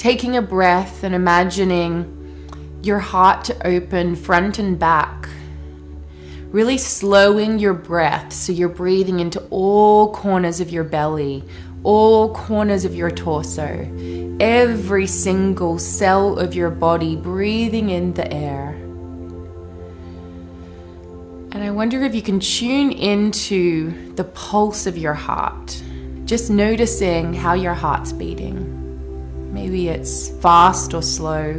taking a breath and imagining your heart to open front and back. Really slowing your breath so you're breathing into all corners of your belly, all corners of your torso, every single cell of your body breathing in the air. And I wonder if you can tune into the pulse of your heart, just noticing how your heart's beating. Maybe it's fast or slow.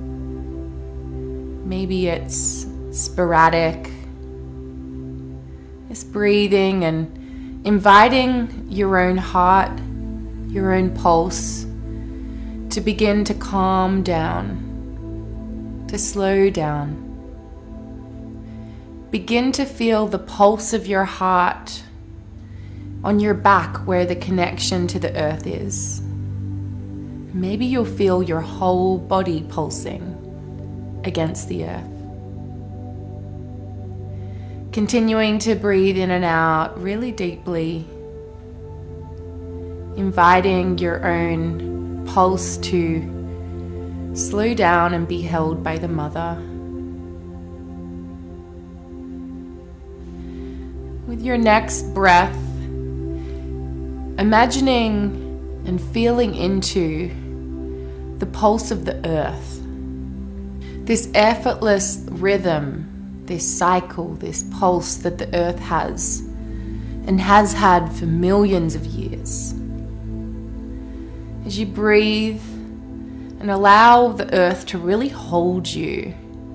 Maybe it's sporadic. Just breathing and inviting your own heart, your own pulse, to begin to calm down, to slow down. Begin to feel the pulse of your heart on your back where the connection to the earth is. Maybe you'll feel your whole body pulsing against the earth. Continuing to breathe in and out really deeply, inviting your own pulse to slow down and be held by the mother. With your next breath, imagining and feeling into the pulse of the earth. This effortless rhythm, this cycle, this pulse that the earth has and has had for millions of years. As you breathe and allow the earth to really hold you,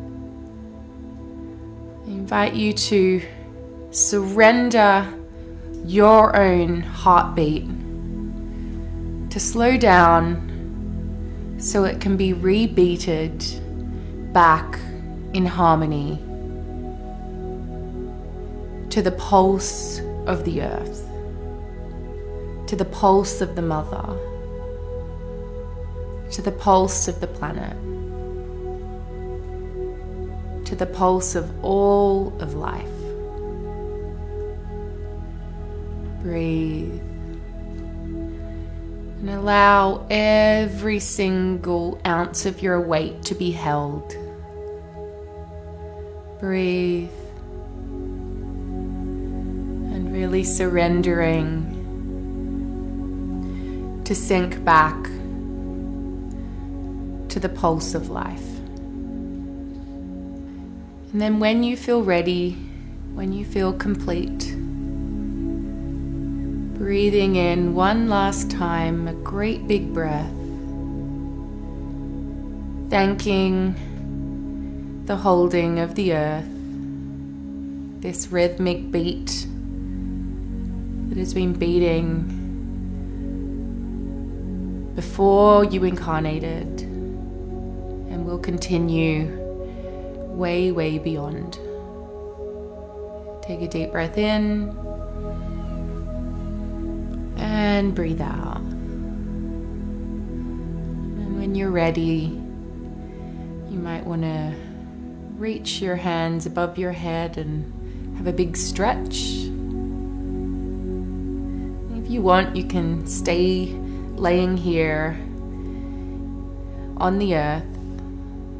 I invite you to surrender your own heartbeat, to slow down so it can be rebeated back in harmony to the pulse of the earth, to the pulse of the mother, to the pulse of the planet, to the pulse of all of life. Breathe and allow every single ounce of your weight to be held. Breathe. Really surrendering to sink back to the pulse of life. And then when you feel ready, when you feel complete, breathing in one last time, a great big breath, thanking the holding of the earth, this rhythmic beat that has been beating before you incarnated and will continue way, way beyond. Take a deep breath in and breathe out. And when you're ready, you might want to reach your hands above your head and have a big stretch. If you want, you can stay laying here on the earth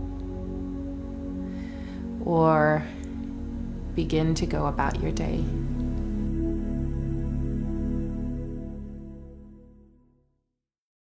or begin to go about your day.